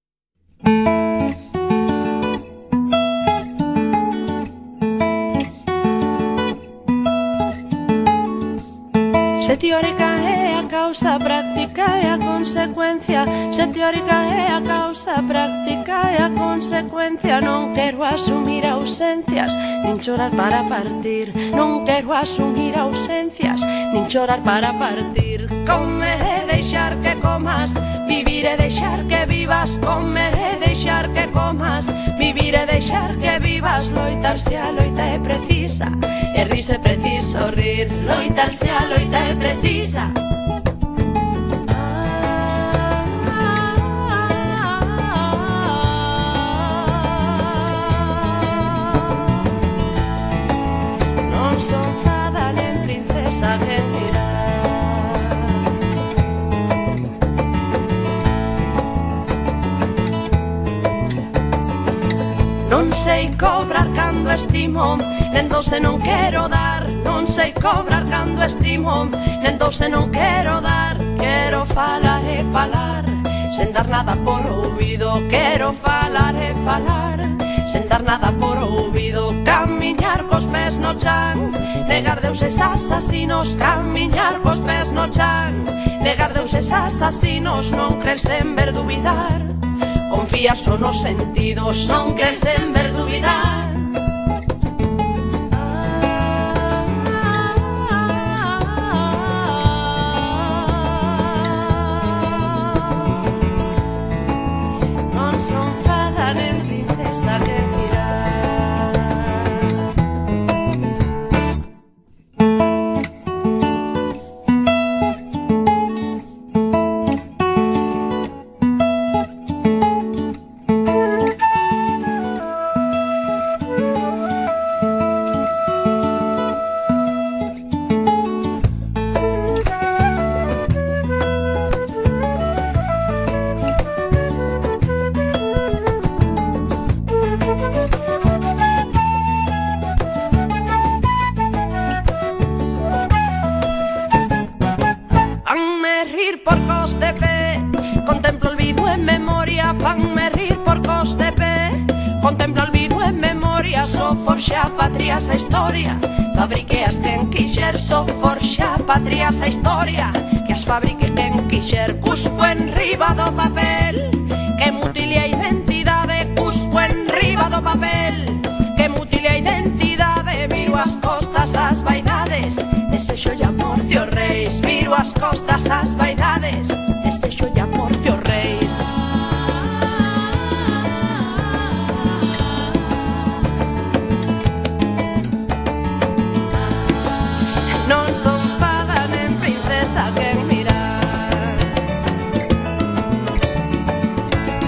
Se teórica é a causa, práctica é a consecuencia. Se teórica é a causa, práctica é a consecuencia. Non quero asumir ausencias, nin chorar para partir. Non quero asumir ausencias, nin chorar para partir. Comer é deixar que comas, vivir é deixar que vivas. Comer é deixar que comas, vivir é deixar que vivas. Loitarse a loita é precisa, e rise é preciso rir. Loitarse a loita é precisa. Non son fada nen princesa que mirar. Non sei cobrar cando estimo, nen doce non quero dar. Non sei cobrar cando estimo, nen doce non quero dar. Quero falar e falar, sen dar nada por ouvido. Quero falar e falar, sen dar nada por ouvido. Camiñar cos pés no chan, negar deuses asasinos. Camiñar cos pés no chan, negar deuses asasinos. Non crer sen ver duvidar, confiar só nos sentidos. Non crer sen ver duvidar. Non son fada nen princesa que mirar. Fanme rir por cos de pé, contemplo olvido en memoria. Fanme rir Contemplo olvido en memoria, so forxa patria esa historia. Fabrique as quen quixer, so forxa patria esa historia. Que as fabrique quen quixer, cuspo en riba do papel. Que mutile a identidade, cuspo en riba do papel. Que mutile a identidade, viro as costas ás vaidades. Desexo e a morte os reis, viro as costas ás vaidades.